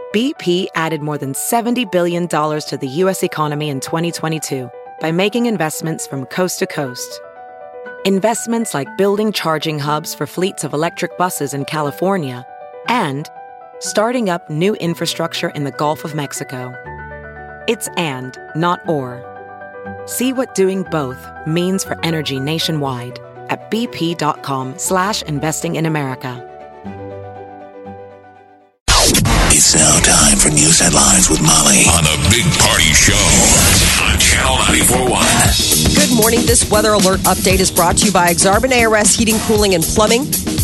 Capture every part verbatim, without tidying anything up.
B P added more than seventy billion dollars to the U S economy in twenty twenty-two by making investments from coast to coast. Investments like building charging hubs for fleets of electric buses in California and starting up new infrastructure in the Gulf of Mexico. It's and, not or. See what doing both means for energy nationwide at bp.com slash investing in America. It's now time for news headlines with Molly on the Big Party Show on Channel ninety-four point one. Good morning. This weather alert update is brought to you by Exarban A R S Heating, Cooling, and Plumbing.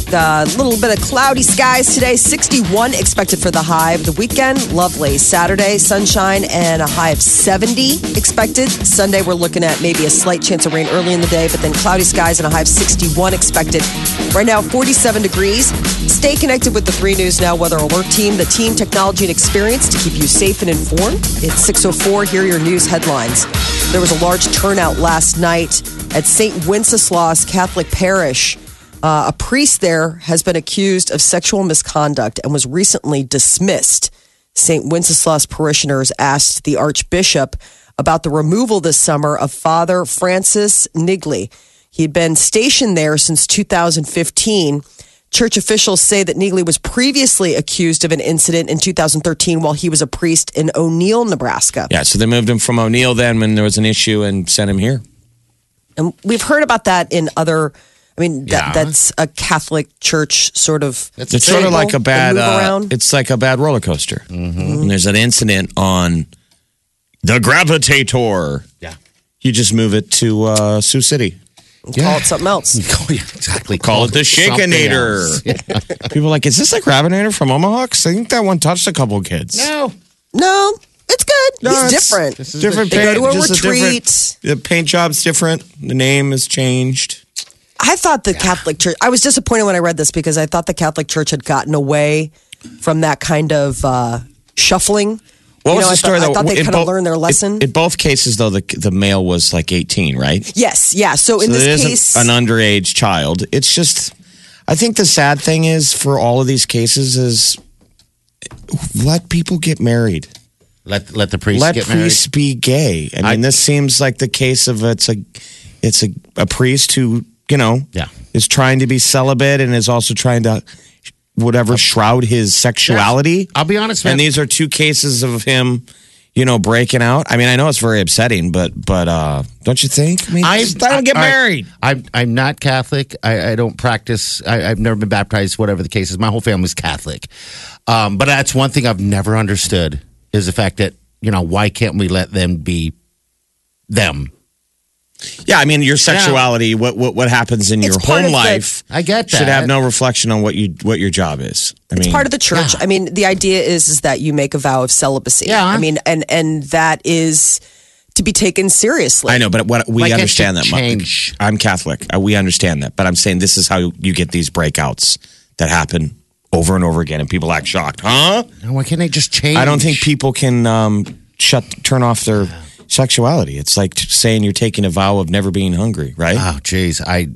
A little bit of cloudy skies today, sixty-one expected for the high of the weekend. Lovely. Saturday, sunshine and a high of seventy expected. Sunday, we're looking at maybe a slight chance of rain early in the day, but then cloudy skies and a high of sixty-one expected. Right now, forty-seven degrees. Stay connected with the three News Now Weather Alert Team, the team, technology, and experience to keep you safe and informed. It's six oh four. Here are your news headlines. There was a large turnout last night at Saint Wenceslas Catholic Parish. Uh, a priest there has been accused of sexual misconduct and was recently dismissed. Saint Wenceslas parishioners asked the Archbishop about the removal this summer of Father Francis Niggli. He had been stationed there since two thousand fifteen. Church officials say that Niggli was previously accused of an incident in two thousand thirteen while he was a priest in O'Neill, Nebraska. Yeah, so they moved him from O'Neill then when there was an issue and sent him here. And we've heard about that in other... I mean, Yeah. that, that's a Catholic church sort of... That's It's sort of like a bad, move uh, around. it's like a bad roller coaster. Mm-hmm. And there's an incident on the Gravitator. Yeah. You just move it to uh, Sioux City. Call it something else. Oh, yeah, exactly. Call it the something Shakinator. else. Yeah. People are like, is this the Gravitator from Omaha? 'Cause I think that one touched a couple kids. No. No, it's good. No, He's it's- different. This is Different the- They paint. go to a just retreat. different- the paint job's different. The name is changed. I thought the Catholic Church, I was disappointed when I read this because I thought the Catholic Church had gotten away from that kind of uh, shuffling. What You was know, the I story, thought, I though? thought they In kind of both- learned their lesson. In, in both cases, though, the the male was like eighteen, right? yes, yeah. So, in So this it isn't case, an underage child. It's just, I think the sad thing is for all of these cases is let people get married. Let let the priest Let get priests be gay. I mean, I- this seems like the case of it's a, it's a, a priest who you know Yeah. is trying to be celibate and is also trying to whatever shroud his sexuality. married. I'll be honest, man. And these are two cases of him, you know, breaking out. I mean, I know it's very upsetting, but but uh, don't you think? I mean, I, just let him get I- married. I'm I'm not Catholic. I, I don't practice. I, I've never been baptized. Whatever the case is, my whole family's Catholic. Um, but that's one thing I've never understood is the fact that you know why can't we let them be them? Yeah, I mean, your sexuality, what, what what happens in It's your part home of the- life, I get should that. have no reflection on what you what your job is. I it's mean, part of the church. I mean, the idea is is that you make a vow of celibacy. Yeah. I mean, and and that is to be taken seriously. I know, but what we Why can't understand you that. Mike. change? I'm Catholic. Uh, we understand that, but I'm saying this is how you get these breakouts that happen over and over again, and people act shocked. Huh? Why can't they just change? I don't think people can um, shut turn off their sexuality. It's like saying you're taking a vow of never being hungry, right? Oh, geez, I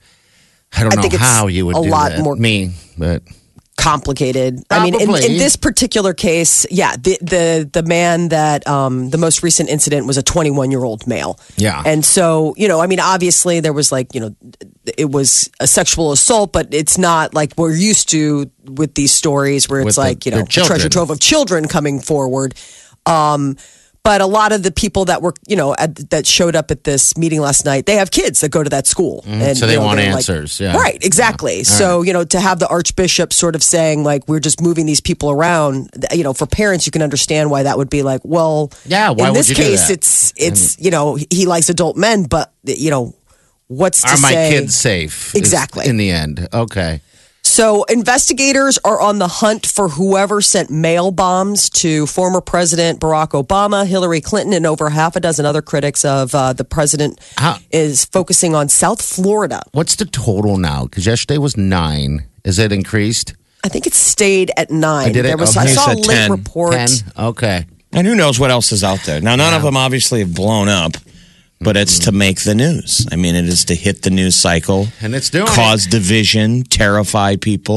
I don't I know think it's how you would a do lot that. more- me, but complicated. I mean, in, in Probably. this particular case, yeah, the the the man that um, the most recent incident was a twenty-one year old male. Yeah. and so you know, I mean, obviously there was like you know, it was a sexual assault, but it's not like we're used to with these stories where it's With the- like you know, their a treasure children. trove of children coming forward. Um, But a lot of the people that were, you know, at, that showed up at this meeting last night, they have kids that go to that school, and so they you know, want they're like- answers, yeah. right? Exactly. So you know, to have the Archbishop sort of saying like we're just moving these people around, you know, for parents, you can understand why that would be like, well, Yeah, why in would this you do case, that? it's it's you know he likes adult men, but you know, what's to are my say? kids safe? is Exactly. in the end, okay. So investigators are on the hunt for whoever sent mail bombs to former President Barack Obama, Hillary Clinton, and over half a dozen other critics of uh, the president How- is focusing on South Florida. What's the total now? Because yesterday was nine. Is it increased? I think it stayed at nine. I did it? There was, Okay. I He saw a said late ten. report. Ten. Okay. And who knows what else is out there? Now, none of them obviously have blown up, but it's to make the news. I mean, it is to hit the news cycle, And it's doing cause division, terrify people.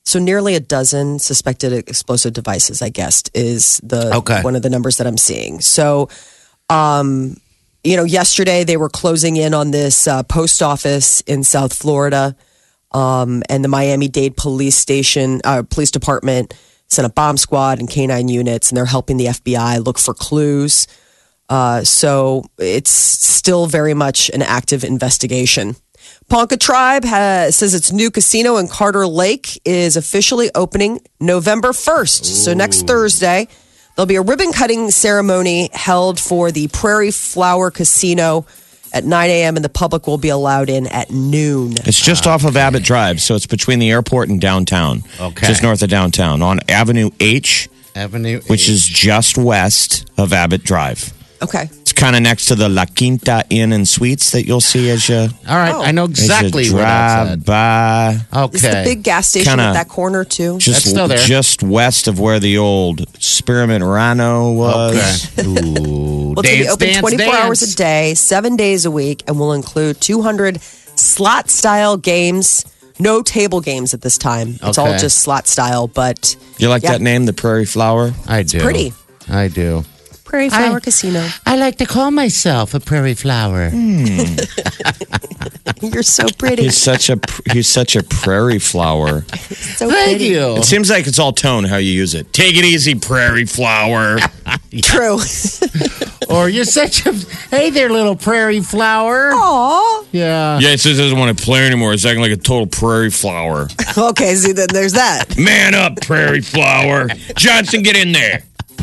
So nearly a dozen suspected explosive devices, I guess, is the Okay. one of the numbers that I'm seeing. So, um, you know, yesterday they were closing in on this uh, post office in South Florida, um, and the Miami-Dade police station, uh, police department sent a bomb squad and canine units, and they're helping the F B I look for clues. Uh, so it's still very much an active investigation. Ponca Tribe has, says its new casino in Carter Lake is officially opening November first. So next Thursday, there'll be a ribbon cutting ceremony held for the Prairie Flower Casino at nine a.m. and the public will be allowed in at noon. It's just off of Abbott Drive, so it's between the airport and downtown. Okay. Just north of downtown on Avenue H, Avenue, which H. is just west of Abbott Drive. Okay. It's kind of next to the La Quinta Inn and Suites that you'll see as you, All right, Oh. I know as exactly you where that's drive by. at. Okay. Is the big gas station Kinda- at that corner too? Just, That's still there. just west of where the old Spearmint Rhino was. Okay. Ooh, Well, it's going to be dance, open dance, twenty-four dance. hours a day, seven days a week, and will include two hundred slot style games. No table games at this time. It's all Okay. just slot style, but You like Yeah. that name, the Prairie Flower? I do. pretty. I do. Prairie Flower Casino. I like to call myself a prairie flower. You're so pretty. He's such a he's such a prairie flower. so Thank pretty. you. It seems like it's all tone how you use it. Take it easy, prairie flower. True. Or you're such a hey there, little prairie flower. Aw. Yeah. Yeah, it says it doesn't want to play anymore. It's acting like a total prairie flower. Okay, see, then there's that. Man up, prairie flower. Johnson, get in there.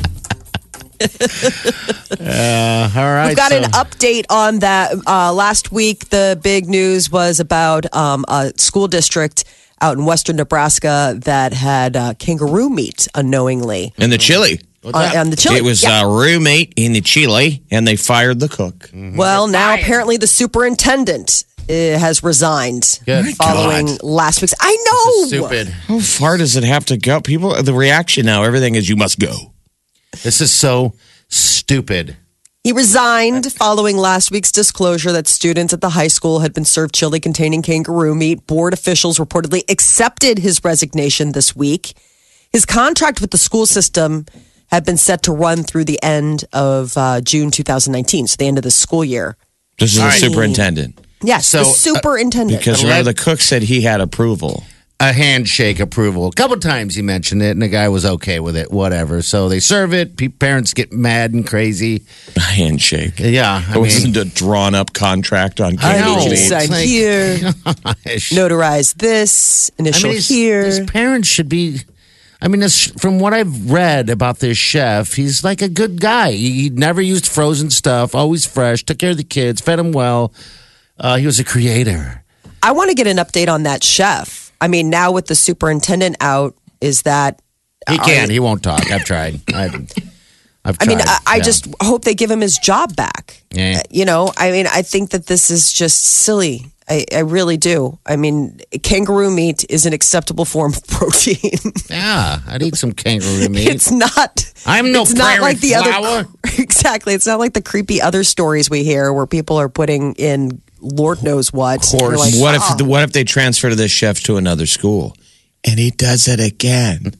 Uh, all right. We've got so- an update on that. Uh, last week, the big news was about um, a school district out in western Nebraska that had uh, kangaroo meat unknowingly And the chili. What's on, that? on the chili. It was Yeah. uh, roommate in the chili, and they fired the cook. Well, now apparently the superintendent uh, has resigned Good. following God. last week's. I know. Stupid. How far does it have to go? People, the reaction now, everything is you must go. This is so stupid. He resigned following last week's disclosure that students at the high school had been served chili containing kangaroo meat. Board officials reportedly accepted his resignation this week. His contract with the school system had been set to run through the end of uh, June two thousand nineteen, so the end of the school year. This is All the right. superintendent. Yes, So, the uh, superintendent. Because remember, the cook said he had approval. A handshake approval. A couple times he mentioned it, and the guy was okay with it. Whatever. So they serve it. Pe- Parents get mad and crazy. A handshake. Yeah, I It wasn't mean, a drawn up contract on I I know. need you to kangaroo meat. sign It's like- here, gosh. notarize this, I initial mean, his, here. his parents should be. I mean, this, from what I've read about this chef, he's like a good guy. He, he never used frozen stuff, always fresh, took care of the kids, fed them well. Uh, he was a creator. I want to get an update on that chef. I mean, now with the superintendent out, is that He are- can. He won't talk. I've tried. I've, I've I tried. mean, I, I Yeah. just hope they give him his job back. Yeah. Uh, You know, I mean, I think that this is just silly. I, I really do. I mean, kangaroo meat is an acceptable form of protein. Yeah, I'd eat some kangaroo meat. It's not. I'm no It's not prairie like the flower. other. Exactly. It's not like the creepy other stories we hear where people are putting in Lord knows what. Horse. You're like, What "Oh." if what if they transfer to this chef to another school, and he does it again?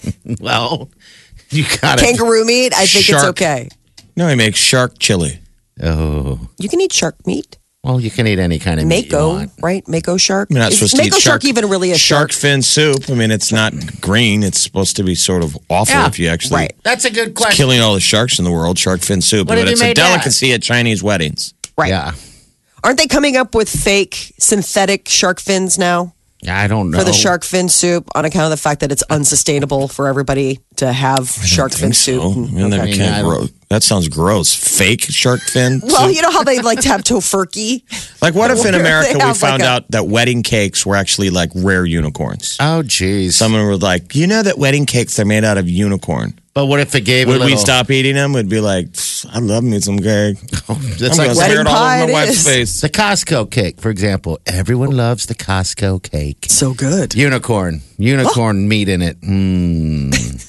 Well, you got it. kangaroo meat? I think Shark. it's okay. No, he makes shark chili. Oh, You can eat shark meat. well, you can eat any kind of meat you Mako, want. right? Mako shark. You're not Is supposed to Mako eat shark, even really a shark shark? fin soup. I mean, it's not green. It's supposed to be sort of awful Yeah, if you actually right. That's a good question. killing all the sharks in the world. Shark fin soup, What if but you it's a made that? delicacy at Chinese weddings. Right. Yeah. Aren't they coming up with fake synthetic shark fins now Yeah, I don't know. for the shark fin soup on account of the fact that it's unsustainable for everybody to have shark fin Think so. soup? I mean, that, I mean, can't I don't- grow- that sounds gross. Fake shark fin. Well, soup? you know how they like to have tofurkey? Like, what if in Where America they we have, like, found a- out that wedding cakes were actually like rare unicorns? Oh, geez. Someone was like, you know that wedding cakes are made out of unicorn. But what if it gave Would a little? we stop eating them? We'd be like, I love me some cake. That's I'm like gonna wedding smear it all pie over my it wife's is. face. the Costco cake, for example. Everyone loves the Costco cake. So good. Unicorn, unicorn meat in it. Mm.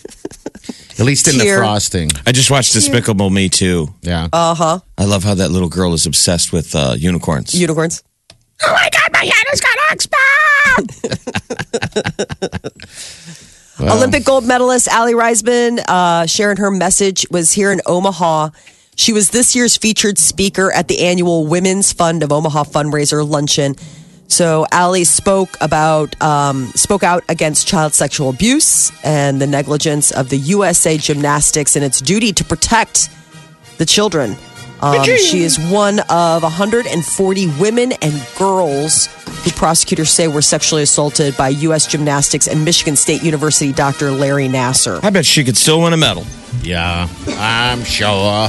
At least in the Tear. frosting. I just watched Despicable Me too. Yeah. Uh huh. I love how that little girl is obsessed with uh, unicorns. Unicorns. oh my God, my head has got oxball! Well. Olympic gold medalist Allie Reisman uh, sharing her message was here in Omaha. She was this year's featured speaker at the annual Women's Fund of Omaha fundraiser luncheon. So Allie spoke about um, spoke out against child sexual abuse and the negligence of the U S A Gymnastics and its duty to protect the children. Um, she is one of one hundred forty women and girls who prosecutors say were sexually assaulted by U S Gymnastics and Michigan State University Doctor Larry Nasser. I bet she could still win a medal. Yeah, I'm sure.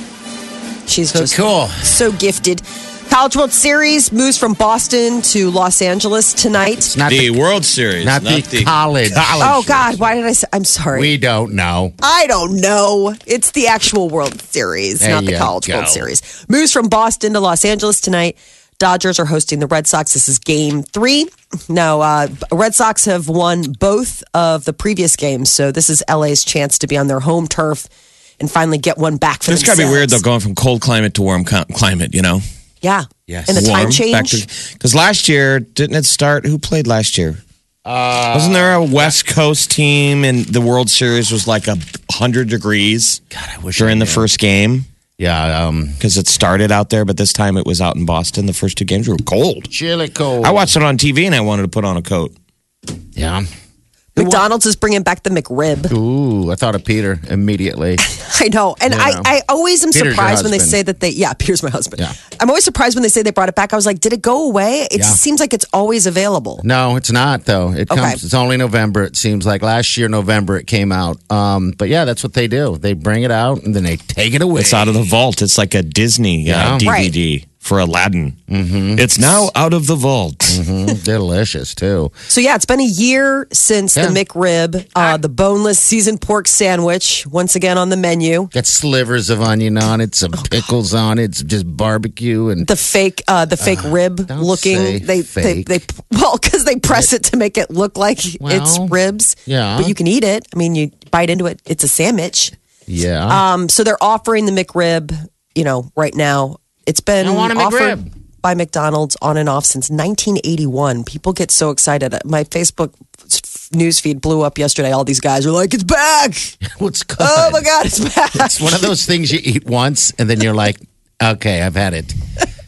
She's so just cool. So gifted. College World Series moves from Boston to Los Angeles tonight. It's not the, the World Series, not, not the, the college. college. Oh, God. Why did I say? I'm sorry. We don't know. I don't know. It's the actual World Series, there not the College go. World Series. Moves from Boston to Los Angeles tonight. Dodgers are hosting the Red Sox. This is game three. Now, uh, Red Sox have won both of the previous games, so this is L A's chance to be on their home turf and finally get one back for It's themselves. got to be weird, though, going from cold climate to warm co- climate, you know? Yeah. Yes. And the Warm, time change. Because last year, didn't it start? Who played last year? Uh, Wasn't there a West Coast team and the World Series was like a hundred degrees God, I wish during I the knew. first game? Yeah, um, Because it started out there, but this time it was out in Boston. The first two games were cold. chilly cold. I watched it on T V and I wanted to put on a coat. Yeah. McDonald's is bringing back the McRib. Ooh, I thought of Peter immediately. I know. And You I, know. I always am Peter's your surprised when they husband. say that they, yeah, Peter's my husband. Yeah. I'm always surprised when they say they brought it back. I was like, did it go away? It Yeah. seems like it's always available. No, it's not though. It comes. Okay. It's only November. It seems like last year November it came out. Um, but yeah, that's what they do. They bring it out and then they take it away. It's out of the vault. It's like a Disney Yeah. uh, D V D for Aladdin. Mm-hmm. It's now out of the vault. Mhm. Delicious too. So yeah, it's been a year since Yeah. the McRib, uh, the boneless seasoned pork sandwich, once again on the menu. Got slivers of onion on it, Oh, some pickles on it, some just barbecue and The fake, uh, the fake rib don't looking. say They, fake. they, they, well, because they press it to make it look like it's Well, ribs. yeah. but you can eat it. I mean, you bite into it. It's a sandwich. yeah. Um, so they're offering the McRib, you know, right now. It's been I want a offered McRib. by McDonald's on and off since nineteen eighty-one. People get so excited. My Facebook newsfeed blew up yesterday. All these guys are like, it's back. What's good? Oh my God, it's back. It's one of those things you eat once and then you're like, okay, I've had it.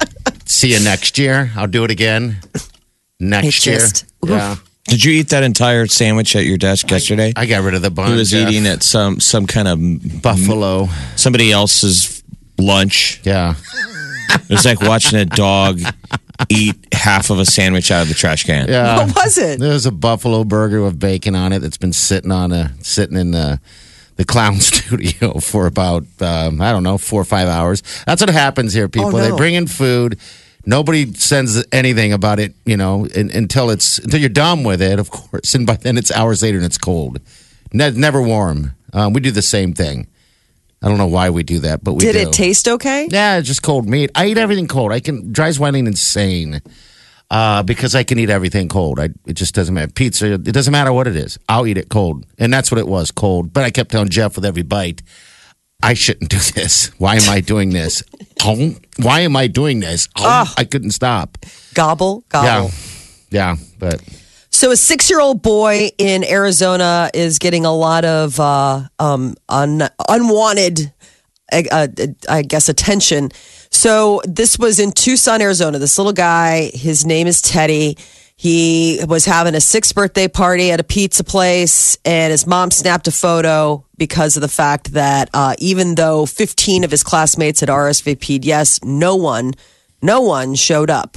See you next year. I'll do it again next It's year. just- yeah. Did you eat that entire sandwich at your desk yesterday? I got rid of the bun. He was Jeff. eating at some some kind of Buffalo. somebody else's lunch. Yeah. It was like watching a dog eat half of a sandwich out of the trash can. Yeah. What was it? There's a buffalo burger with bacon on it that's been sitting on a sitting in the the clown studio for about um, I don't know four or five hours. That's what happens here, people. Oh, no. They bring in food. Nobody sends anything about it, you know, in, until it's until you're done with it, of course. And by then it's hours later and it's cold. Ne- never warm. Um, we do the same thing. I don't know why we do that, but we Did do. it taste okay? Yeah, it's just cold meat. I eat everything cold. I can drives Wyling insane uh, because I can eat everything cold. I, it just doesn't matter. Pizza, it doesn't matter what it is. I'll eat it cold, and that's what it was, cold. But I kept telling Jeff with every bite, I shouldn't do this. Why am I doing this? Oh, why am I doing this? Oh, I couldn't stop. Gobble, gobble. Yeah, yeah, but So a six-year-old boy in Arizona is getting a lot of uh, um, un- unwanted, uh, uh, I guess, attention. So this was in Tucson, Arizona. This little guy, his name is Teddy. He was having a sixth birthday party at a pizza place, and his mom snapped a photo because of the fact that uh, even though fifteen of his classmates had R S V P'd, yes, no one, no one showed up.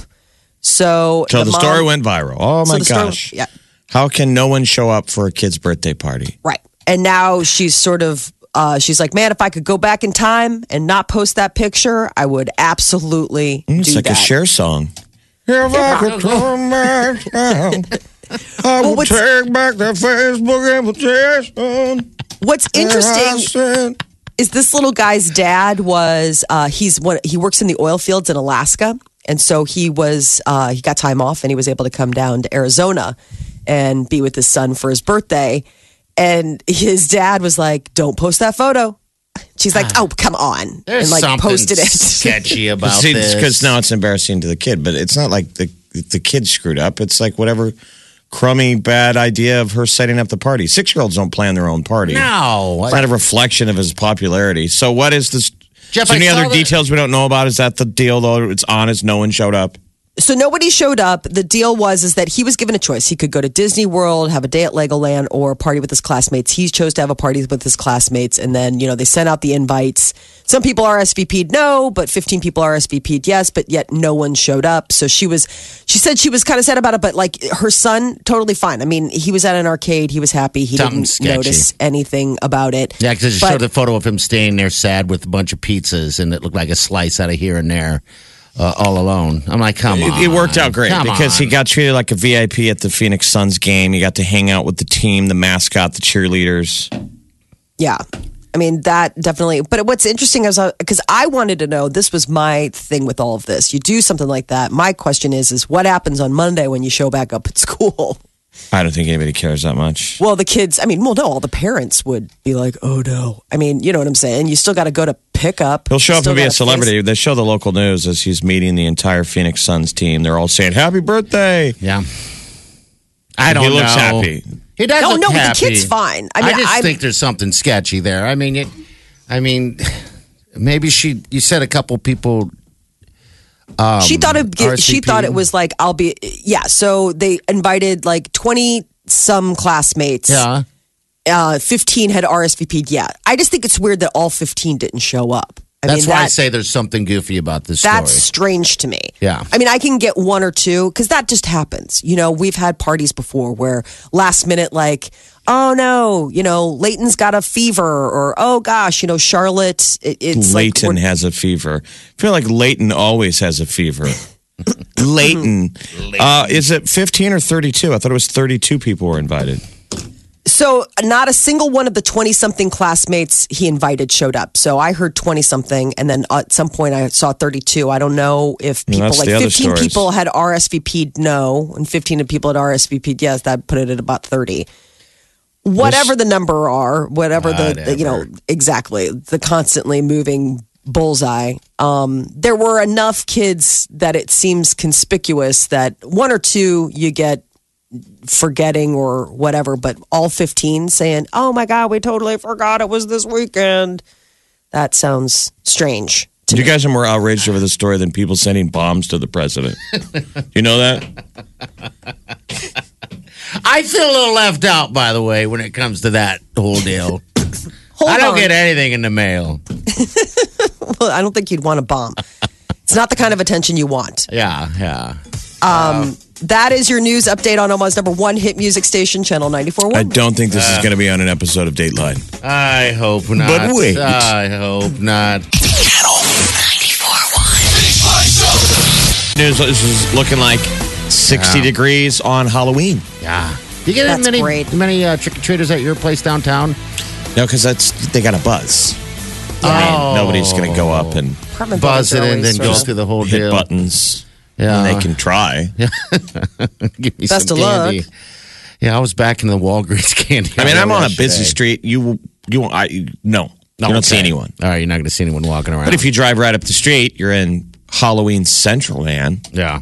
So, So the, mom- story went viral. Oh So my the story- gosh. yeah. How can no one show up for a kid's birthday party? Right. And now she's sort of, uh, she's like, man, if I could go back in time and not post that picture, I would absolutely It's do like that. a share song. If I could turn back time, I Well, would what's- take back the Facebook invitation. What's I interesting said- is this little guy's dad was, uh, he's one, he works in the oil fields in Alaska. And so he was, uh, he got time off and he was able to come down to Arizona and be with his son for his birthday. And his dad was like, don't post that photo. She's like, oh, come on. there's and like something posted it. sketchy about See, this. because now it's embarrassing to the kid, but it's not like the the kid screwed up. It's like whatever crummy, bad idea of her setting up the party. Six-year-olds don't plan their own party. No. It's not a reflection of his popularity. So what is this? Jeff, is there any I saw other that- details we don't know about? Is that the deal, though? It's honest. No one showed up. So nobody showed up. The deal was is that he was given a choice. He could go to Disney World, have a day at Legoland, or party with his classmates. He chose to have a party with his classmates, and then you know they sent out the invites. Some people R S V P'd no, but fifteen people R S V P'd yes, but yet no one showed up. So she was, she said she was kind of sad about it, but like her son, totally fine. I mean, he was at an arcade, he was happy, he Something didn't sketchy. notice anything about it. Yeah, because it But- showed a photo of him staying there sad with a bunch of pizzas, and it looked like a slice out of here and there, uh, all alone. I'm like, come on. It, it worked out great Come because on. he got treated like a V I P at the Phoenix Suns game. He got to hang out with the team, the mascot, the cheerleaders. Yeah. I mean, that definitely. But what's interesting is because I wanted to know, this was my thing with all of this. You do something like that. My question is, is what happens on Monday when you show back up at school? I don't think anybody cares that much. Well, the kids, I mean, well, no, all the parents would be like, oh no. I mean, you know what I'm saying? You still got to go to pick up. He'll show You up still and be a gotta face- celebrity. They show the local news as he's meeting the entire Phoenix Suns team. They're all saying, happy birthday. Yeah. I don't He know. looks happy. He does No, look no, the happy. kid's fine. I mean, just I'm- think there's something sketchy there. I mean, it, I mean, maybe she. You said a couple people. Um, she thought it. R S V P? She thought it was like I'll be. Yeah. So they invited like twenty some classmates. Yeah. Uh, fifteen had R S V P'd. Yeah. I just think it's weird that all fifteen didn't show up. I That's mean, why I that- say there's something goofy about this That's story. strange to me. Yeah. I mean, I can get one or two because that just happens. You know, we've had parties before where last minute, like, oh no, you know, Leighton's got a fever, or oh gosh, you know, Charlotte, it, it's Leighton like, we're- has a fever. I feel like Leighton always has a fever. Leighton. Uh, is it fifteen or thirty-two? I thought it was thirty-two people were invited. So not a single one of the twenty something classmates he invited showed up. So I heard twenty something, and then at some point I saw thirty-two. I don't know if people that's like the other fifteen stories. people had R S V P'd no, and fifteen people had R S V P'd yes. That put it at about thirty. Whatever the number are, whatever the, the you know exactly the constantly moving bullseye. Um, there were enough kids that it seems conspicuous that one or two you get forgetting or whatever, but all fifteen saying, oh my God, we totally forgot it was this weekend. That sounds strange. You guys are more outraged over the story than people sending bombs to the president. You know that? I feel a little left out, by the way, when it comes to that whole deal. Hold I don't on. get anything in the mail. Well, I don't think you'd want a bomb. It's not the kind of attention you want. Yeah, yeah. Um, that is your news update on Omaha's number one hit music station, Channel ninety-four point I one. don't think this is going to be on an episode of Dateline. I hope not. But wait. I hope not. Channel ninety-four point one. News this is looking like sixty Yeah. degrees on Halloween. Yeah. You get That's many great. many uh, trick or treaters at your place downtown? No, because that's they got a buzz. Oh. I mean, nobody's going to go up and Apartment Buzz buildings it are and always then sort go of- through the whole hit deal. buttons. Yeah. And they can try. Give me Best some of luck. candy. Yeah, I was back in the Walgreens candy. I mean, I'm on a yesterday. busy street. You, you, I, no, you don't see Okay. anyone. All right, you're not going to see anyone walking around. But if you drive right up the street, you're in Halloween Central, man. yeah,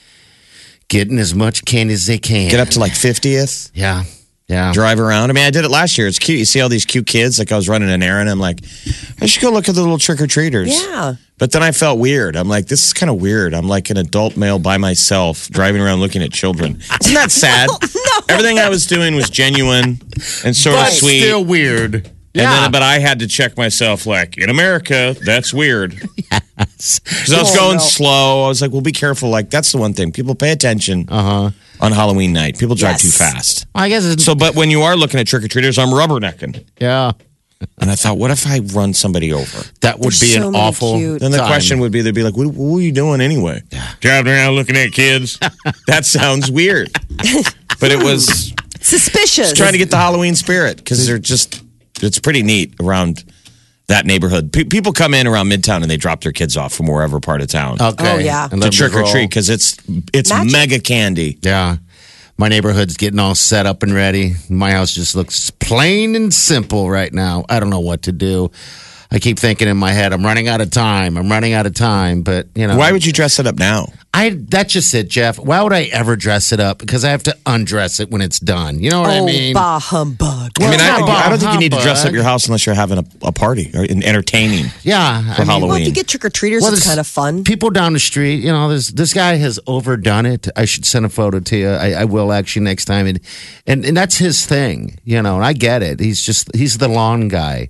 getting as much candy as they can. Get up to like fiftieth, Yeah, yeah. drive around. I mean, I did it last year. It's cute. You see all these cute kids. Like I was running an errand. I'm like, I should go look at the little trick or treaters. Yeah. But then I felt weird. I'm like, this is kind of weird. I'm like an adult male by myself driving around looking at children. Isn't that sad? No. Everything I was doing was genuine and sort but of sweet. still weird. And Yeah, then, but I had to check myself, like, in America, that's weird. Because I was Oh, going no. slow. I was like, well, be careful. Like, that's the one thing. People pay attention uh-huh. on Halloween night. People drive Yes. too fast. I guess it's So, but when you are looking at trick-or-treaters, I'm rubbernecking. yeah. And I thought, what if I run somebody over? That would There's be so an many awful. cute- Then the time. question would be, they'd be like, what, what were you doing anyway? Driving around looking at kids? That sounds weird. But it was Suspicious. trying to get the Halloween spirit because they're just, it's pretty neat around that neighborhood. Pe- people come in around Midtown and they drop their kids off from wherever part of town. Okay. Oh, yeah. And to let them trick or roll. treat because it's it's Magic. mega candy. Yeah. My neighborhood's getting all set up and ready. My house just looks plain and simple right now. I don't know what to do. I keep thinking in my head, I'm running out of time. I'm running out of time. But, you know. Why would you dress it up now? I That's just it, Jeff. Why would I ever dress it up? Because I have to undress it when it's done. You know what oh, I mean? bah humbug. I mean, I, Well, I don't think you need to humbug. dress up your house unless you're having a, a party or an entertaining Yeah. for I mean, Halloween. Well, if you get trick-or-treaters, Well, it's this- kind of fun. People down the street, you know, this this guy has overdone it. I should send a photo to you. I, I will actually next time. And, and and that's his thing, you know, and I get it. He's just, he's the lawn guy.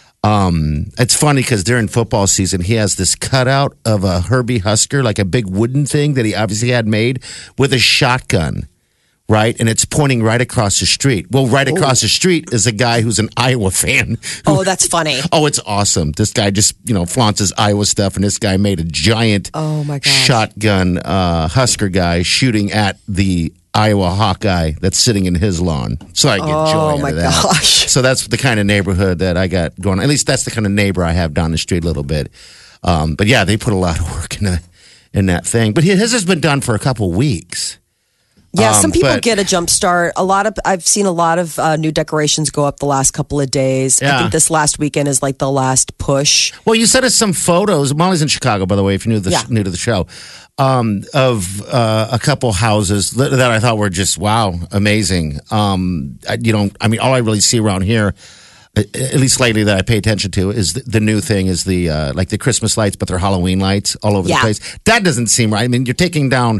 Um, it's funny because during football season, he has this cutout of a Herbie Husker, like a big wooden thing that he obviously had made with a shotgun, right? And it's pointing right across the street. Well, right across the street is a guy who's an Iowa fan. who- Oh, that's funny. Oh, it's awesome. This guy just, you know, flaunts his Iowa stuff, and this guy made a giant Oh, my gosh. shotgun uh, Husker guy shooting at the Iowa Hawkeye that's sitting in his lawn. So I get Oh, joy out my of that. gosh. So that's the kind of neighborhood that I got going. At least that's the kind of neighbor I have down the street a little bit. Um, but yeah, they put a lot of work in, in that thing. But his has been done for a couple weeks. Yeah, Um, some people but- get a jump start. A lot of I've seen a lot of uh, new decorations go up the last couple of days. I Yeah. think this last weekend is like the last push. Well, you sent us some photos. Molly's in Chicago, by the way, if you're new to the, Yeah. new to the show, um, of uh, a couple houses that, that I thought were just, wow, amazing. Um, I, you know, I mean, all I really see around here, at at least lately that I pay attention to, is the, the new thing is the, uh, like the Christmas lights, but they're Halloween lights all over Yeah. the place. That doesn't seem right. I mean, you're taking down,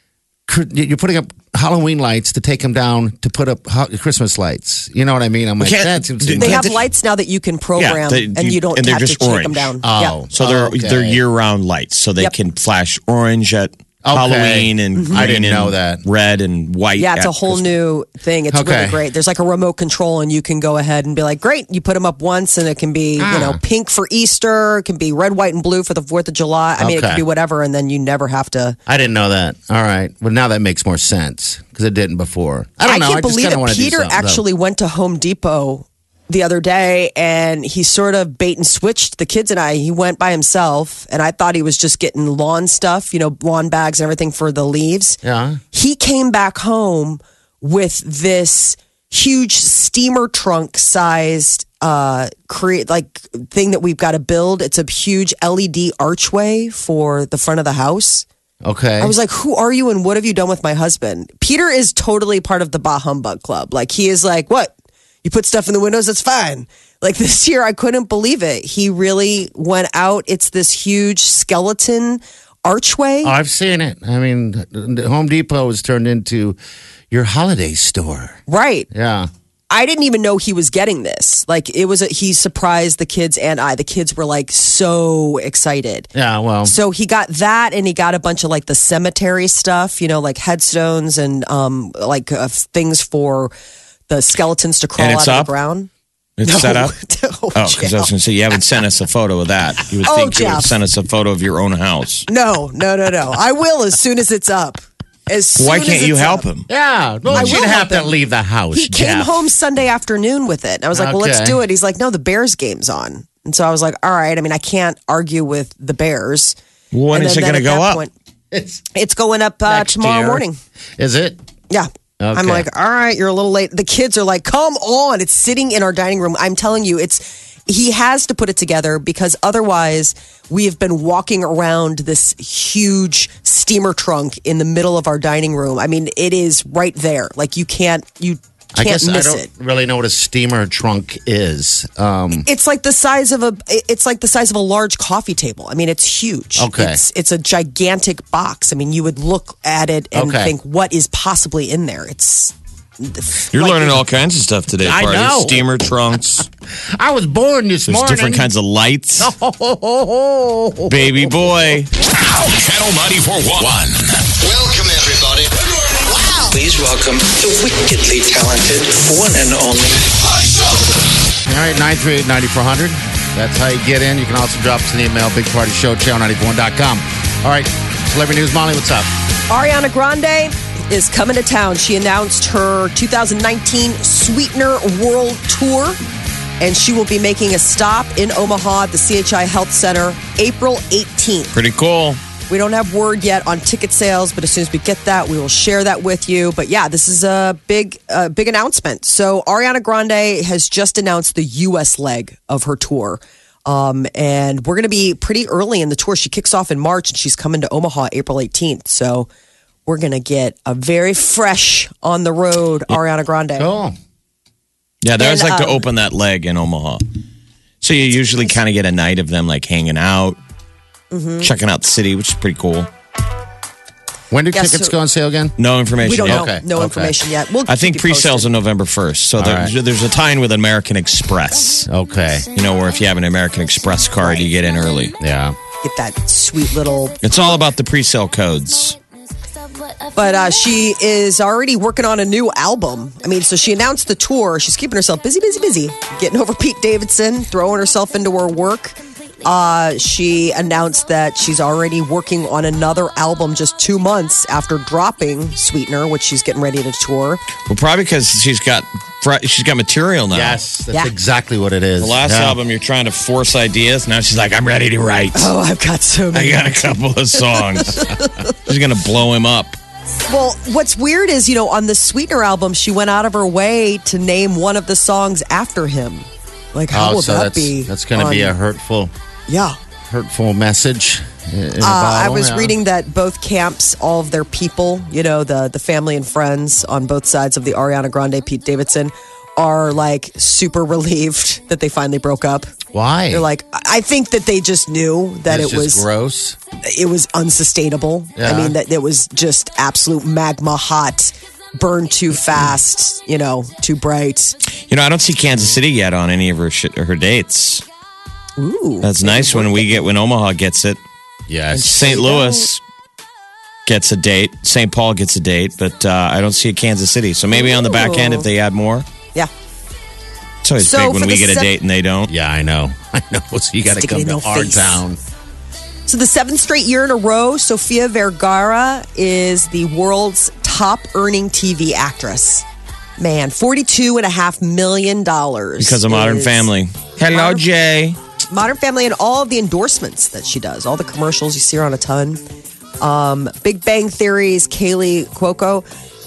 you're putting up Halloween lights to take them down to put up ho- Christmas lights. You know what I mean? I'm like, can't- that seems they They Can't have they- lights now that you can program, they- and you- you don't and they're have to just take orange. them down. Oh. Yeah. So they're Okay. they're year round lights, so they Yep. can flash orange at Okay. Halloween and green I didn't and know that. red and white. Yeah, it's at a whole Christmas. new thing. It's Okay. really great. There's like a remote control, and you can go ahead and be like, great, you put them up once, and it can be, you know, Ah. pink for Easter, it can be red, white, and blue for the fourth of July. I mean, it Okay. can be whatever, and then you never have to. I didn't know that. All right. Well, now that makes more sense because it didn't before. I don't know. can't I just believe kinda it. wanna do Peter something, though. actually went to Home Depot the other day, and he sort of bait and switched the kids and I. He went by himself, and I thought he was just getting lawn stuff, you know, lawn bags and everything for the leaves. Yeah. He came back home with this huge steamer trunk sized uh create like thing that we've got to build. It's a huge L E D archway for the front of the house. Okay. I was like, who are you and what have you done with my husband? Peter is totally part of the Bah Humbug Club. Like, he is like, what? You put stuff in the windows, it's fine. Like, this year, I couldn't believe it. He really went out. It's this huge skeleton archway. Oh, I've seen it. I mean, the Home Depot has turned into your holiday store. Right. Yeah. I didn't even know he was getting this. Like, it was, a, he surprised the kids and I. The kids were like so excited. Yeah. Well, So he got that, and he got a bunch of like the cemetery stuff, you know, like headstones and um like uh, things for the skeletons to crawl And out it's of up? the ground. It's No. set up. No, Oh, because I was Jeff. going to say you haven't sent us a photo of that. You would Oh, think you would Jeff. send us a photo of your own house. no, no, no, no. I will as soon as it's up. As soon Why as can't you it's help up. him? yeah. Well, I you'd will have help to him. leave the house. He came Jeff. home Sunday afternoon with it. And I was like, well, let's Okay. do it. He's like, no, the Bears game's on. And so I was like, all right. I mean, I can't argue with the Bears. When And is then- it going to then at go that up? point- It's It's going up uh, next tomorrow year. morning. Is it? Yeah. I'm Okay. like, all right, you're a little late. The kids are like, come on. It's sitting in our dining room. I'm telling you, it's he has to put it together because otherwise we have been walking around this huge steamer trunk in the middle of our dining room. I mean, it is right there. Like you can't you I can't guess I miss don't it. really know what a steamer trunk is. Um, It's like the size of a it's like the size of a large coffee table. I mean, it's huge. Okay. It's it's a gigantic box. I mean, you would look at it and Okay. think what is possibly in there. It's You're like- learning all kinds of stuff today, I Party. know. Steamer trunks. I was born this There's morning. different kinds of lights. Oh, Baby boy. Channel ninety-four point one. Welcome, everybody. Wow. Please welcome the wickedly talented one and only. All right, nine three eight, nine four zero zero. That's how you get in. You can also drop us an email, big party show, channel ninety-four one dot com. All right, Celebrity News, Molly, what's up? Ariana Grande is coming to town. She announced her two thousand nineteen Sweetener World Tour, and she will be making a stop in Omaha at the C H I Health Center April eighteenth. Pretty cool. We don't have word yet on ticket sales, but as soon as we get that, we will share that with you. But yeah, this is a big, uh, big announcement. So Ariana Grande has just announced the U S leg of her tour. Um, and we're going to be pretty early in the tour. She kicks off in March and she's coming to Omaha April eighteenth. So we're going to get a very fresh on the road Ariana Grande. Cool. Yeah, they always And, like to um, open that leg in Omaha. So you usually kind of get a night of them like hanging out, Mm-hmm. checking out the city, which is pretty cool. When do Yeah, tickets so- go on sale again? No information We don't yet. know. Okay, No okay. information yet. We'll I keep think you pre-sales posted. on November first. So there, right. there's a tie-in with American Express. Okay. You know, where if you have an American Express card, you get in early. Yeah. Get that sweet little. It's all about the pre-sale codes. But uh, she is already working on a new album. I mean, so she announced the tour. She's keeping herself busy, busy, busy. Getting over Pete Davidson, throwing herself into her work. Uh, she announced that she's already working on another album just two months after dropping Sweetener, which she's getting ready to tour. Well, probably because she's got fr- she's got material now. Yes, that's Yeah. exactly what it is. The last Yeah. album, you're trying to force ideas. Now she's like, I'm ready to write. Oh, I've got so I many. got a couple of songs. She's gonna blow him up. Well, what's weird is, you know, on the Sweetener album, she went out of her way to name one of the songs after him. Like, how Oh, would so that that's, be? That's going to be on- a hurtful, Yeah. hurtful message. In a Uh, I bottle, was yeah. reading that both camps, all of their people, you know, the the family and friends on both sides of the Ariana Grande, Pete Davidson, are like super relieved that they finally broke up. Why? They're like, I think that they just knew that it's it just was gross. it was unsustainable. Yeah. I mean, that it was just absolute magma hot, burned too fast, you know, too bright. You know, I don't see Kansas City yet on any of her sh- her dates. Ooh, That's nice when we get when Omaha gets it. Yes. Saint Louis gets a date. Saint Paul gets a date, but uh, I don't see a Kansas City. So maybe on the back end, if they add more, yeah. it's always So big when for we the get a sep- date and they don't. Yeah, I know. I know. So you got to Stick it come in to your our face. town. So the seventh straight year in a row, Sofia Vergara is the world's top earning T V actress. Man, forty-two and a half million dollars. Because of Modern is Family. Hello, Modern- Jay. Modern Family and all of the endorsements that she does, all the commercials, you see her on a ton. Um, Big Bang Theory's Kaylee Cuoco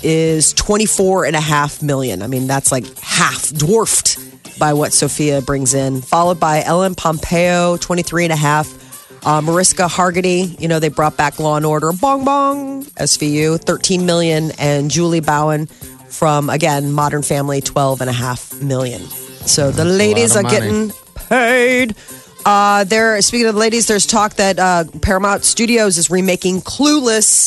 is twenty-four and a half million. I mean, that's like half dwarfed by what Sophia brings in, followed by Ellen Pompeo, twenty-three and a half. Uh, Mariska Hargitay, you know, they brought back Law and Order, bong bong, S V U, thirteen million, and Julie Bowen from, again, Modern Family, twelve and a half million. So the ladies lot are of money. getting paid. Uh, there, speaking of the ladies, there's talk that uh, Paramount Studios is remaking Clueless.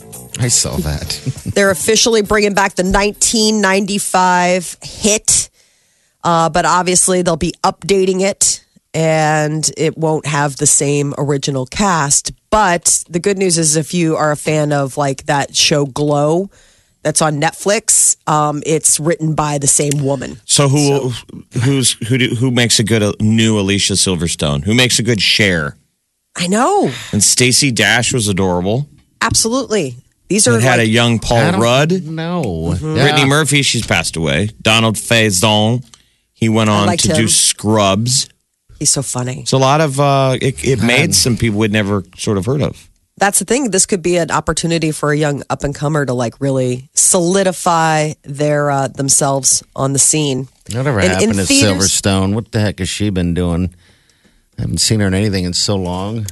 I saw that. They're officially bringing back the nineteen ninety-five hit, uh, but obviously they'll be updating it, and it won't have the same original cast. But the good news is, if you are a fan of like that show Glow, that's on Netflix, um, it's written by the same woman. So who who's who do, who makes a good uh, new Alicia Silverstone? Who makes a good Cher? I know, And Stacey Dash was adorable. absolutely. These are It had like, a young I Paul don't Rudd. know. Brittany Murphy, she's passed away. Donald Faison, he went on liked to do him. Scrubs. he's so funny. So a lot of uh, it, it made some people we'd never sort of heard of. That's the thing. This could be an opportunity for a young up and comer to like really solidify their uh, themselves on the scene. Whatever And in happened to theaters- Silverstone? What the heck has she been doing? I haven't seen her in anything in so long.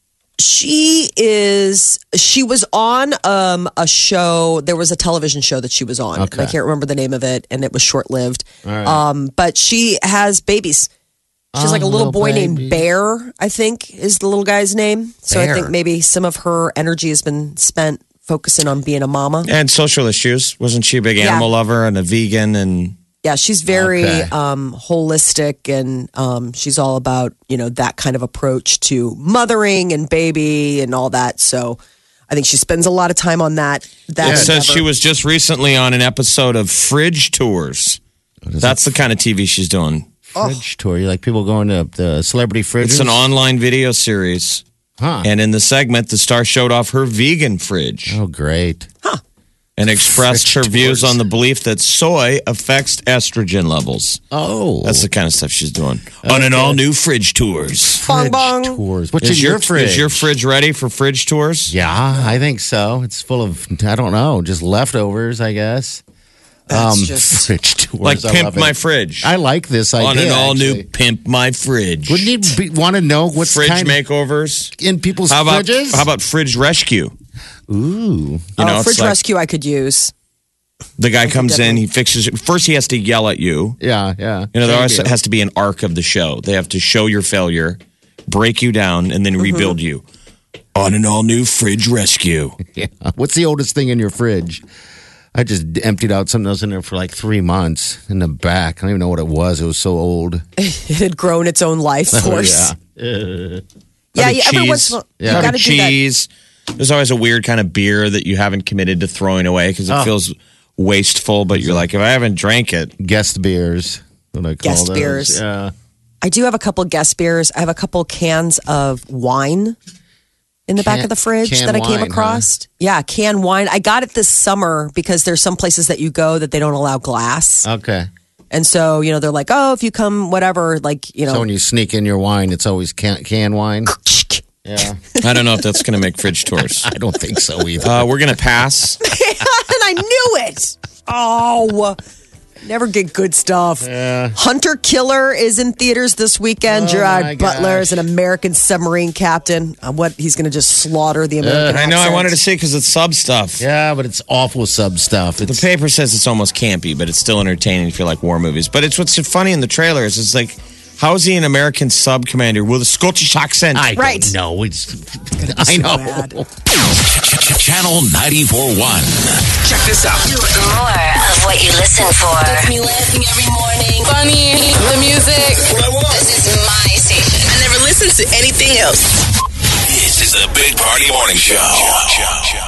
She is. She was on um, a show. There was a television show that she was on. Okay. I can't remember the name of it, and it was short lived. right. Um, but she has babies. She's Oh, like a little, little boy baby. named Bear, I think, is the little guy's name. So I Bear. think maybe some of her energy has been spent focusing on being a mama. And social issues. Wasn't she a big Yeah. animal lover and a vegan? And Yeah, she's very Okay. um, holistic, and um, she's all about, you know, that kind of approach to mothering and baby and all that. So I think she spends a lot of time on that. That it says endeavor. she was just recently on an episode of Fridge Tours. That's the kind of T V she's doing. Fridge tour. You like people going to the celebrity fridges? It's an online video series. Huh. And in the segment, the star showed off her vegan fridge Oh, great. and expressed her Fridge views tours. on the belief that soy affects estrogen levels. Oh. That's the kind of stuff she's doing on an all new Fridge Tours. bong fridge bong. tours. What's Is in your, your fridge? is your fridge ready for Fridge Tours? Yeah, I think so. It's full of, I don't know, just leftovers, I guess. That's um, just- fridge tours. Like I Pimp love it. My Fridge. I like this idea. On an all new actually. Pimp My Fridge. Wouldn't you be, want to know what's Fridge kind makeovers. of in people's How about, fridges? how about Fridge Rescue? Ooh. You oh, know, it's fridge like rescue I could use. the guy comes in, definitely. he fixes it. First, he has to yell at you. Yeah, yeah. You know, there Same also deal. has to be an arc of the show. They have to show your failure, break you down, and then Mm-hmm. rebuild you. On an all new Fridge Rescue. Yeah. What's the oldest thing in your fridge? I just emptied out something that was in there for like three months in the back. I don't even know what it was. It was so old. It had grown its own life force. Oh, yeah. yeah, Cut of yeah, every cheese. once in a while, Yeah. you Cut got to of do that. cheese. There's always a weird kind of beer that you haven't committed to throwing away because it Oh. feels wasteful, but you're like, if I haven't drank it, Guest beers. What I call Guest those. beers. Yeah. I do have a couple guest beers. I have a couple cans of wine in the back Can- of the fridge canned that I came wine, across. Yeah, canned wine. I got it this summer because there's some places that you go that they don't allow glass. Okay. And so, you know, they're like, oh, if you come, whatever, like, you So know. when you sneak in your wine, it's always can, can wine. Yeah. I don't know if that's going to make fridge tours. I don't think so either. Uh, we're going to pass. And I knew it. Oh, never get good stuff. Hunter Killer is in theaters this weekend. Oh, my Gerard Butler gosh. is an American submarine captain. Uh, what he's going to just slaughter the American. I know. I accent. wanted to see because it's sub stuff. Yeah, but it's awful sub stuff. The It's paper says it's almost campy, but it's still entertaining if you like war movies. But it's what's funny in the trailers. It's like, how is he an American sub commander with a Scottish accent? I Right. don't know. It's, I know. bad. Channel ninety-four point one. Check this out. More of what you listen for. Gets me laughing every morning. Funny, the music. This is my station. I never listen to anything else. This is the Big Party Morning Show.